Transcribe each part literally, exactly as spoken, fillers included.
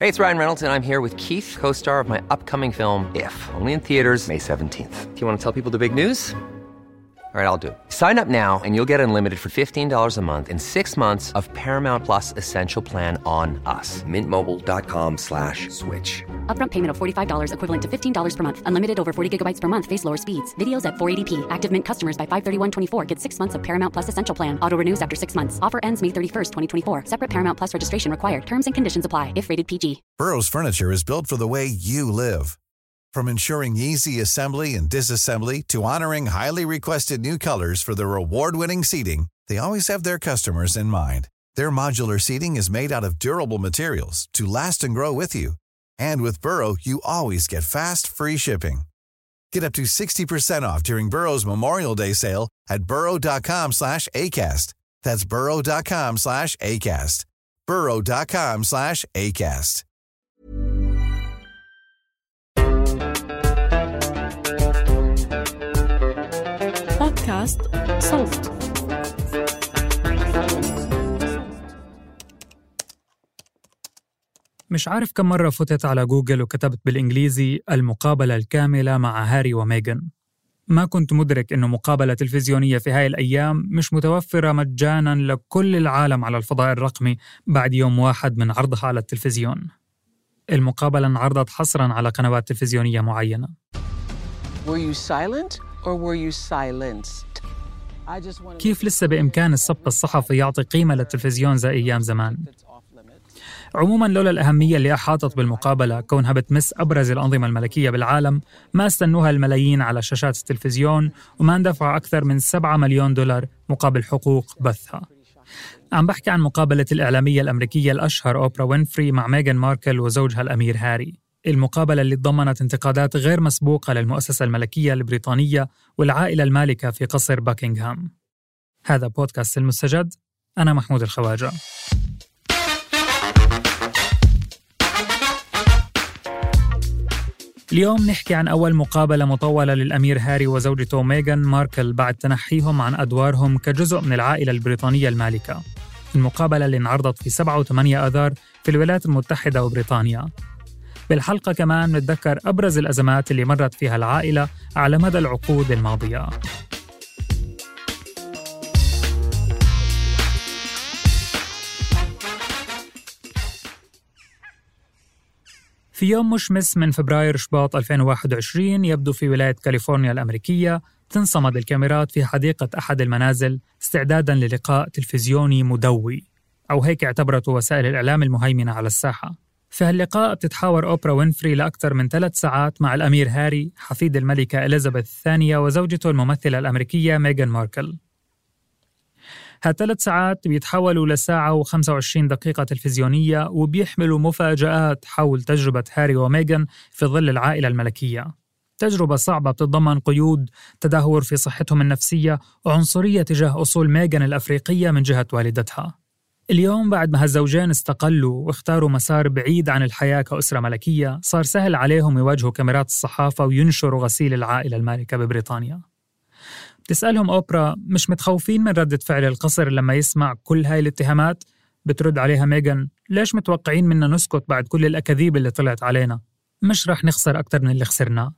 Hey, it's Ryan Reynolds, and I'm here with Keith, co-star of my upcoming film, If, only in theaters May seventeenth. Do you want to tell people the big news? All right, I'll do it. Sign up now and you'll get unlimited for fifteen dollars a month and six months of Paramount Plus Essential Plan on us. Mint Mobile dot com slash switch. Upfront payment of forty-five dollars equivalent to fifteen dollars per month. Unlimited over forty gigabytes per month. Face lower speeds. Videos at four eighty p. Active Mint customers by five thirty-one twenty-four get six months of Paramount Plus Essential Plan. Auto renews after six months. Offer ends May thirty-first, twenty twenty-four. Separate Paramount Plus registration required. Terms and conditions apply if rated P G. Burrow's furniture is built for the way you live. From ensuring easy assembly and disassembly to honoring highly requested new colors for their award-winning seating, they always have their customers in mind. Their modular seating is made out of durable materials to last and grow with you. And with Burrow, you always get fast, free shipping. Get up to sixty percent off during Burrow's Memorial Day sale at burrow.com slash ACAST. That's burrow.com slash ACAST. burrow.com slash ACAST. بودكاست صوت. مش عارف كم مرة فتت على جوجل وكتبت بالإنجليزي المقابلة الكاملة مع هاري وميغان. ما كنت مدرك إنه مقابلة تلفزيونية في هاي الأيام مش متوفرة مجاناً لكل العالم على الفضاء الرقمي بعد يوم واحد من عرضها على التلفزيون. المقابلة انعرضت حصراً على قنوات تلفزيونية معينة. Were you silent or were you silenced? كيف لسه بإمكان السبق الصحفي يعطي قيمة للتلفزيون زي أيام زمان؟ عموماً لولا الأهمية اللي أحاطت بالمقابلة كونها بتمس أبرز الأنظمة الملكية بالعالم ما استنوها الملايين على شاشات التلفزيون وما اندفع أكثر من سبعة مليون دولار مقابل حقوق بثها. عم بحكي عن مقابلة الإعلامية الأمريكية الأشهر أوبرا وينفري مع ميغان ماركل وزوجها الأمير هاري. المقابلة اللي تضمنت انتقادات غير مسبوقة للمؤسسة الملكية البريطانية والعائلة المالكة في قصر باكنغهام. هذا بودكاست المستجد. أنا محمود الخواجة. اليوم نحكي عن أول مقابلة مطولة للأمير هاري وزوجته ميغان ماركل بعد تنحيهم عن أدوارهم كجزء من العائلة البريطانية المالكة. المقابلة اللي انعرضت في سبعة وثمانية آذار في الولايات المتحدة وبريطانيا. بالحلقة كمان نتذكر أبرز الأزمات اللي مرت فيها العائلة على مدى العقود الماضية. في يوم مشمس من فبراير شباط ألفين وواحد وعشرين يبدو في ولاية كاليفورنيا الأمريكية تنصمد الكاميرات في حديقة أحد المنازل استعداداً للقاء تلفزيوني مدوي، أو هيك اعتبرته وسائل الإعلام المهيمنة على الساحة. في هاللقاء بتتحاور أوبرا وينفري لأكثر من ثلاث ساعات مع الأمير هاري حفيد الملكة إليزابيث الثانية وزوجته الممثلة الأمريكية ميغان ماركل. هالثلاث ساعات بيتحولوا لساعة وخمسة وعشرين دقيقة تلفزيونية وبيحملوا مفاجآت حول تجربة هاري وميغان في ظل العائلة الملكية. تجربة صعبة بتتضمن قيود، تدهور في صحتهم النفسية وعنصرية تجاه أصول ميغان الأفريقية من جهة والدتها. اليوم بعد ما هالزوجين استقلوا واختاروا مسار بعيد عن الحياة كأسرة ملكية، صار سهل عليهم يواجهوا كاميرات الصحافة وينشروا غسيل العائلة المالكة ببريطانيا. بتسألهم أوبرا مش متخوفين من ردة فعل القصر لما يسمع كل هاي الاتهامات؟ بترد عليها ميغان ليش متوقعين منا نسكت بعد كل الأكاذيب اللي طلعت علينا؟ مش رح نخسر أكتر من اللي خسرناه.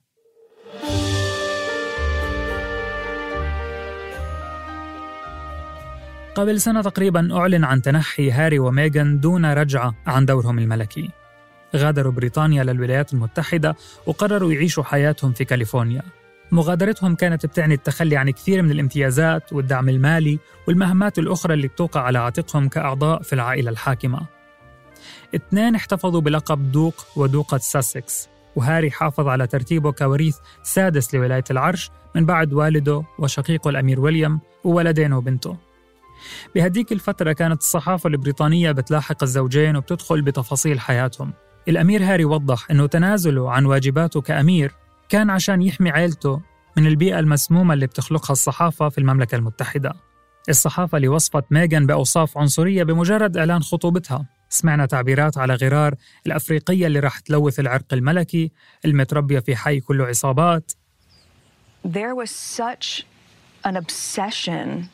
قبل سنة تقريباً أعلن عن تنحي هاري وميغان دون رجعة عن دورهم الملكي. غادروا بريطانيا للولايات المتحدة وقرروا يعيشوا حياتهم في كاليفورنيا. مغادرتهم كانت بتعني التخلي عن كثير من الامتيازات والدعم المالي والمهمات الأخرى اللي بتوقع على عاتقهم كأعضاء في العائلة الحاكمة. اثنين احتفظوا بلقب دوق ودوقة ساسكس، وهاري حافظ على ترتيبه كوريث سادس لولاية العرش من بعد والده وشقيقه الأمير ويليام وولدين وبنته. بهديك الفترة كانت الصحافة البريطانية بتلاحق الزوجين وبتدخل بتفاصيل حياتهم. الأمير هاري وضح أنه تنازله عن واجباته كأمير كان عشان يحمي عائلته من البيئة المسمومة اللي بتخلقها الصحافة في المملكة المتحدة. الصحافة اللي وصفت ميغان بأوصاف عنصرية بمجرد إعلان خطوبتها. سمعنا تعبيرات على غرار الأفريقية اللي راح تلوث العرق الملكي، المتربية في حي كله عصابات. There was such an obsession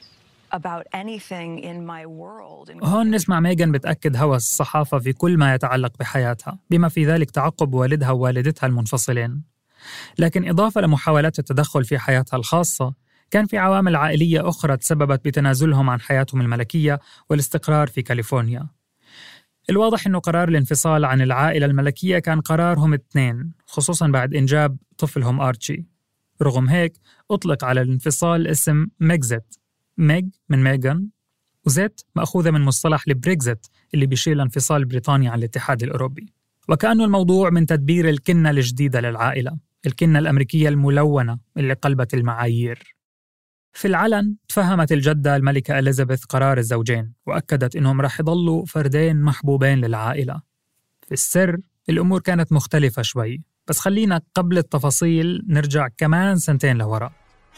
about anything in my world. هون نسمع ميغان بتأكد هوس الصحافة في كل ما يتعلق بحياتها، بما في ذلك تعقب والدها ووالدتها المنفصلين. لكن إضافة لمحاولات التدخل في حياتها الخاصة، كان في عوامل عائلية أخرى تسببت بتنازلهم عن حياتهم الملكية والاستقرار في كاليفورنيا. الواضح أنه قرار الانفصال عن العائلة الملكية كان قرارهم الاثنين، خصوصاً بعد إنجاب طفلهم آرتشي. رغم هيك أطلق على الانفصال اسم ميغزيت، ميغ من ميغان، وزيت مأخوذة من مصطلح البريكزيت اللي بيشير لانفصال بريطانيا عن الاتحاد الأوروبي. وكأنه الموضوع من تدبير الكنة الجديدة للعائلة، الكنة الأمريكية الملونة اللي قلبت المعايير. في العلن تفهمت الجدة الملكة إليزابيث قرار الزوجين، وأكدت إنهم رح يضلوا فردين محبوبين للعائلة. في السر الأمور كانت مختلفة شوي، بس خلينا قبل التفاصيل نرجع كمان سنتين لوراء.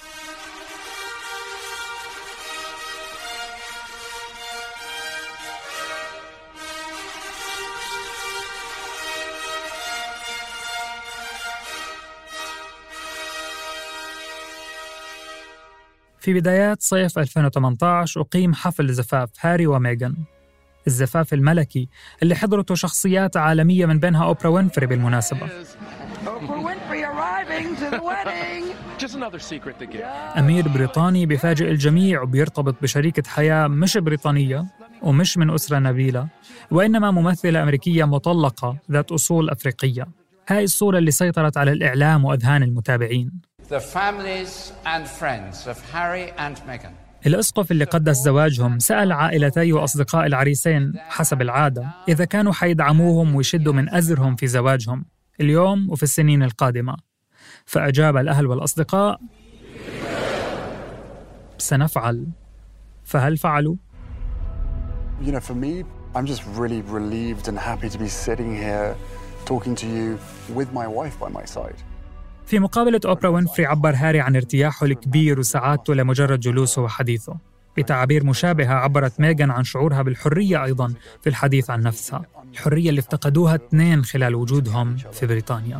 في بدايات صيف ألفين وثمانية عشر أقيم حفل زفاف هاري وميغان، الزفاف الملكي اللي حضرته شخصيات عالمية من بينها أوبرا وينفري بالمناسبة. أمير بريطاني بيفاجئ الجميع وبيرتبط بشريكة حياة مش بريطانية ومش من أسرة نبيلة، وإنما ممثلة أمريكية مطلقة ذات أصول أفريقية. هاي الصورة اللي سيطرت على الإعلام وأذهان المتابعين. The families and friends of Harry and Meghan. الأسقف اللي قدس زواجهم سأل عائلتي وأصدقاء العريسين حسب العادة إذا كانوا حيدعموهم ويشدوا من أزرهم في زواجهم اليوم وفي السنين القادمة. فأجاب الأهل والأصدقاء: سنفعل. فهل فعلوا؟ You know, for me, I'm just really relieved and happy to be sitting here talking to you with my wife by my side. في مقابلة أوبرا وينفري عبر هاري عن ارتياحه الكبير وسعادته لمجرد جلوسه وحديثه. بتعابير مشابهة عبرت ميغان عن شعورها بالحرية أيضاً في الحديث عن نفسها، الحرية اللي افتقدوها اثنين خلال وجودهم في بريطانيا.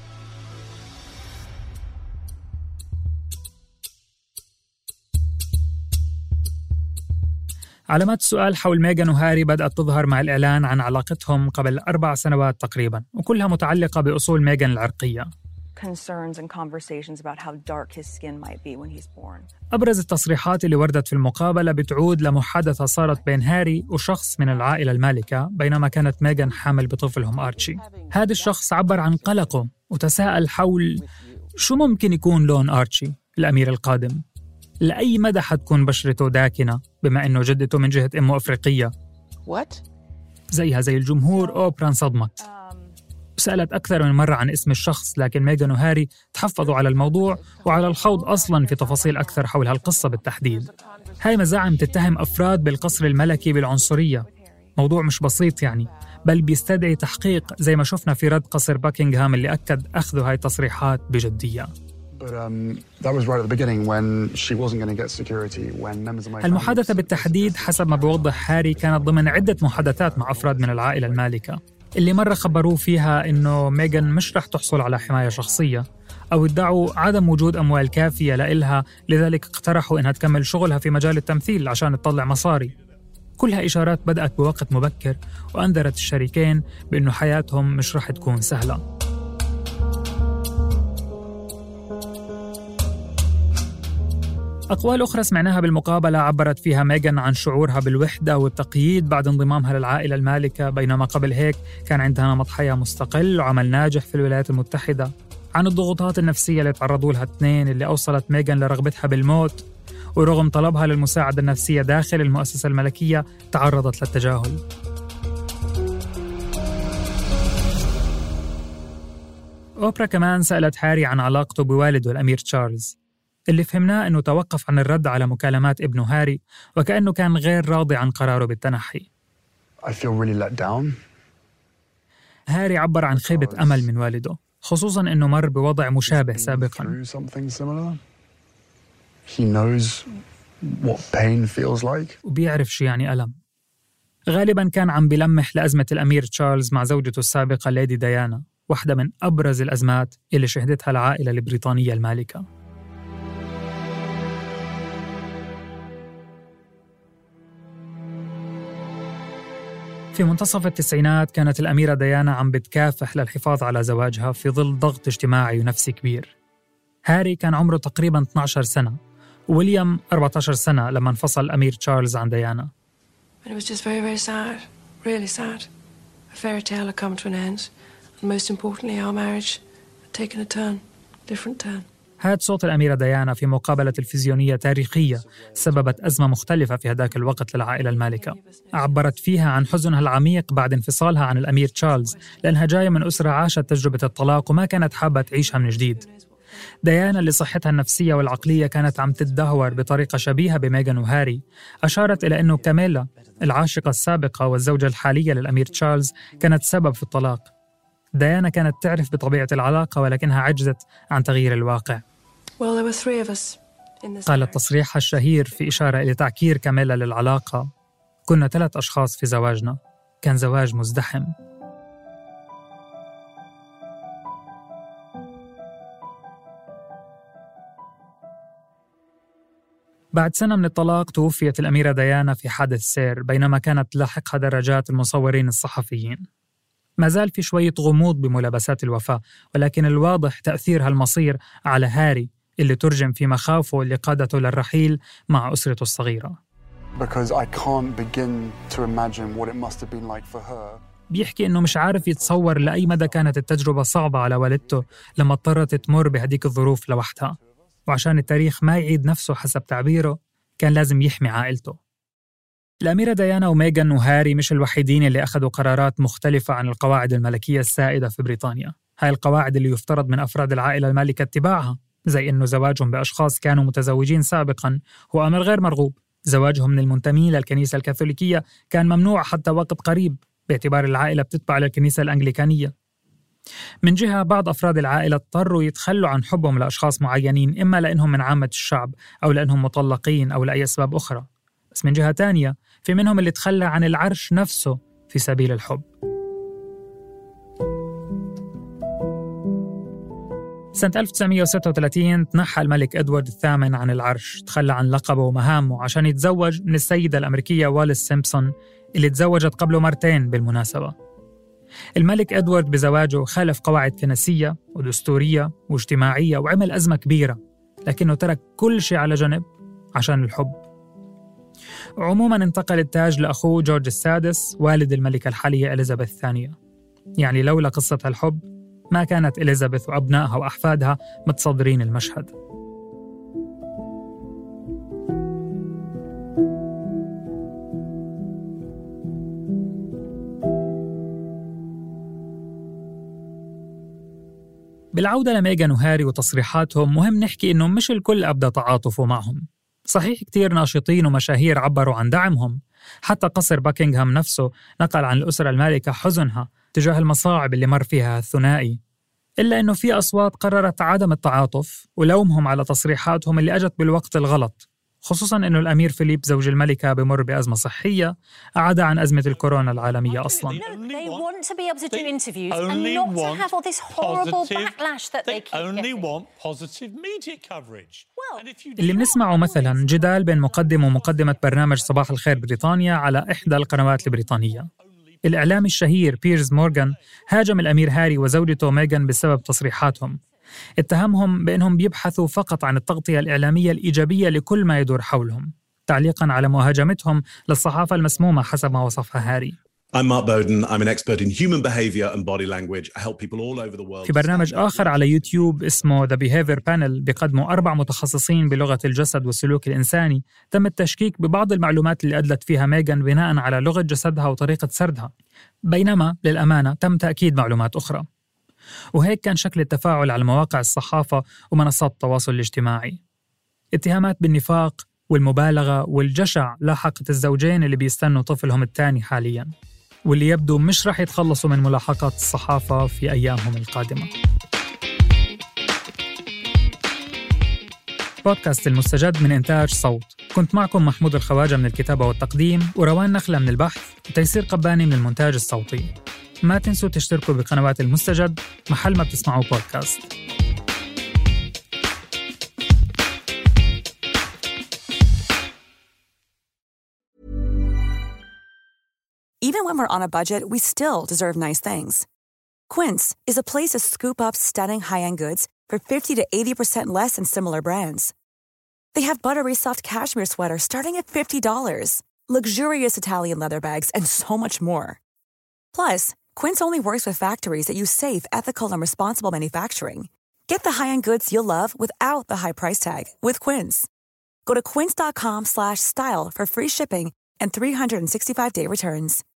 علامات السؤال حول ميغان وهاري بدأت تظهر مع الإعلان عن علاقتهم قبل أربع سنوات تقريباً، وكلها متعلقة بأصول ميغان العرقية. concerns and conversations about how dark his skin might be when he's born. أبرز التصريحات اللي وردت في المقابلة بتعود لمحادثة صارت بين هاري وشخص من العائلة المالكة بينما كانت ميغان حامل بطفلهم آرتشي. هذا الشخص عبر عن قلقه وتساءل حول شو ممكن يكون لون آرتشي الأمير القادم، لأي مدى حتكون بشرته داكنة بما أنه جدته من جهة أمه أفريقية. What؟ زيها زي الجمهور أوبرا انصدمت. سألت أكثر من مرة عن اسم الشخص، لكن ميغان وهاري تحفظوا على الموضوع وعلى الخوض أصلاً في تفاصيل أكثر حول هالقصة بالتحديد. هاي مزاعم تتهم أفراد بالقصر الملكي بالعنصرية، موضوع مش بسيط يعني، بل بيستدعي تحقيق زي ما شفنا في رد قصر باكنغهام اللي أكد أخذ هاي التصريحات بجدية. المحادثة بالتحديد حسب ما بيوضح هاري كانت ضمن عدة محادثات مع أفراد من العائلة المالكة اللي مرة خبروه فيها إنه ميغان مش رح تحصل على حماية شخصية، أو ادعوا عدم وجود أموال كافية لإلها، لذلك اقترحوا إنها تكمل شغلها في مجال التمثيل عشان تطلع مصاري. كلها إشارات بدأت بوقت مبكر وأنذرت الشريكين بأنه حياتهم مش رح تكون سهلة. أقوال أخرى سمعناها بالمقابلة عبرت فيها ميغان عن شعورها بالوحدة والتقييد بعد انضمامها للعائلة المالكة، بينما قبل هيك كان عندها نمط حياة مستقل وعمل ناجح في الولايات المتحدة. عن الضغوطات النفسية اللي تعرضوا لها الاثنين اللي أوصلت ميغان لرغبتها بالموت، ورغم طلبها للمساعدة النفسية داخل المؤسسة الملكية تعرضت للتجاهل. أوبرا كمان سألت هاري عن علاقته بوالده الأمير تشارلز، اللي فهمناه أنه توقف عن الرد على مكالمات ابنه هاري وكأنه كان غير راضي عن قراره بالتنحي. I feel really let down. هاري عبر عن خيبة أمل من والده، خصوصاً أنه مر بوضع مشابه سابقاً. He knows what pain feels like. وبيعرف شو يعني ألم. غالباً كان عم بلمح لأزمة الأمير تشارلز مع زوجته السابقة ليدي ديانا، واحدة من أبرز الأزمات اللي شهدتها العائلة البريطانية المالكة. في منتصف التسعينات كانت الأميرة ديانا عم بتكافح للحفاظ على زواجها في ظل ضغط اجتماعي ونفسي كبير. هاري كان عمره تقريباً اثني عشر سنة، وويليام أربعة عشر سنة لما انفصل الأمير تشارلز عن ديانا. It was just very, very sad, really sad. A fairy tale had come to an end, and most importantly, our marriage had taken a turn, different turn. هاد صوت الأميرة ديانا في مقابلة تلفزيونية تاريخية سببت أزمة مختلفة في هداك الوقت للعائلة المالكة. عبرت فيها عن حزنها العميق بعد انفصالها عن الأمير تشارلز، لأنها جاية من أسرة عاشت تجربة الطلاق وما كانت حابة تعيشها من جديد. ديانا اللي صحتها النفسية والعقلية كانت عم تتدهور بطريقة شبيهة بميغان وهاري، أشارت إلى أنه كاميلا العاشقة السابقة والزوجة الحالية للأمير تشارلز كانت سبب في الطلاق. ديانا كانت تعرف بطبيعة العلاقة ولكنها عجزت عن تغيير الواقع. قالت تصريحها الشهير في إشارة إلى تعكير كاميلا للعلاقة: كنا ثلاث أشخاص في زواجنا، كان زواج مزدحم. بعد سنة من الطلاق توفيت الأميرة ديانا في حادث سير بينما كانت تلاحقها دراجات المصورين الصحفيين. ما زال في شوية غموض بملابسات الوفاة، ولكن الواضح تأثير هالمصير على هاري اللي ترجم في مخاوفه اللي قادته للرحيل مع أسرته الصغيرة. بيحكي إنه مش عارف يتصور لأي مدى كانت التجربة صعبة على والدته لما اضطرت تمر بهديك الظروف لوحدها، وعشان التاريخ ما يعيد نفسه حسب تعبيره كان لازم يحمي عائلته. الأميرة ديانا وميغان وهاري مش الوحيدين اللي أخذوا قرارات مختلفة عن القواعد الملكية السائدة في بريطانيا. هاي القواعد اللي يفترض من أفراد العائلة المالكة اتباعها، زي إنه زواجهم بأشخاص كانوا متزوجين سابقاً هو أمر غير مرغوب. زواجهم من المنتمين للكنيسة الكاثوليكية كان ممنوع حتى وقت قريب باعتبار العائلة بتتبع للكنيسة الأنجليكانية. من جهة بعض أفراد العائلة اضطروا يتخلوا عن حبهم لأشخاص معينين، إما لأنهم من عامة الشعب أو لأنهم مطلقين أو لأي أسباب أخرى. بس من جهة تانية في منهم اللي تخلى عن العرش نفسه في سبيل الحب. سنة ألف وتسعمية وستة وثلاثين تنحى الملك إدوارد الثامن عن العرش، تخلى عن لقبه ومهامه عشان يتزوج من السيدة الأمريكية واليس سيمبسون اللي تزوجت قبله مرتين بالمناسبة. الملك إدوارد بزواجه خالف قواعد كنسية ودستورية واجتماعية وعمل أزمة كبيرة، لكنه ترك كل شيء على جنب عشان الحب. عموماً انتقل التاج لأخوه جورج السادس والد الملكة الحالية إليزابيث الثانية. يعني لولا قصة الحب ما كانت إليزابيث وأبنائها وأحفادها متصدرين المشهد. بالعودة لميغان وهاري وتصريحاتهم، مهم نحكي إنه مش الكل أبدى تعاطفه معهم. صحيح كتير ناشطين ومشاهير عبروا عن دعمهم، حتى قصر باكنغهام نفسه نقل عن الأسرة المالكة حزنها تجاه المصاعب اللي مر فيها الثنائي، إلا إنه في أصوات قررت عدم التعاطف ولومهم على تصريحاتهم اللي أجت بالوقت الغلط، خصوصاً إنه الأمير فيليب زوج الملكة بمر بأزمة صحية أعاد عن أزمة الكورونا العالمية أصلاً. اللي بنسمعه مثلاً جدال بين مقدم ومقدمة برنامج صباح الخير بريطانيا على إحدى القنوات البريطانية. الإعلامي الشهير بيرز مورغان هاجم الأمير هاري وزوجته ميغان بسبب تصريحاتهم، اتهمهم بأنهم بيبحثوا فقط عن التغطية الإعلامية الإيجابية لكل ما يدور حولهم، تعليقاً على مهاجمتهم للصحافة المسمومة حسب ما وصفها هاري. I'm Mark Bowden. I'm an expert in human behavior and body language. I help people all over the world. في برنامج آخر على يوتيوب اسمه The Behavior Panel بيقدموا أربع متخصصين بلغة الجسد والسلوك الإنساني تم التشكيك ببعض المعلومات اللي أدلت فيها ميغان بناء على لغة جسدها وطريقة سردها، بينما للأمانة تم تأكيد معلومات أخرى. وهيك كان شكل التفاعل على مواقع الصحافة ومنصات التواصل الاجتماعي. اتهامات بالنفاق والمبالغة والجشع لاحقت الزوجين اللي بيستنوا طفلهم الثاني حالياً، واللي يبدو مش رح يتخلصوا من ملاحقات الصحافة في أيامهم القادمة. بودكاست المستجد من إنتاج صوت، كنت معكم محمود الخواجة من الكتابة والتقديم، وروان نخلة من البحث، وتيسير قباني من المونتاج الصوتي. ما تنسوا تشتركوا بقنوات المستجد محل ما بتسمعوا بودكاست. Even when we're on a budget, we still deserve nice things. Quince is a place to scoop up stunning high-end goods for fifty to eighty percent less than similar brands. They have buttery soft cashmere sweaters starting at fifty dollars, luxurious Italian leather bags, and so much more. Plus, Quince only works with factories that use safe, ethical, and responsible manufacturing. Get the high-end goods you'll love without the high price tag with Quince. Go to quince.com slash style for free shipping and three hundred sixty-five day returns.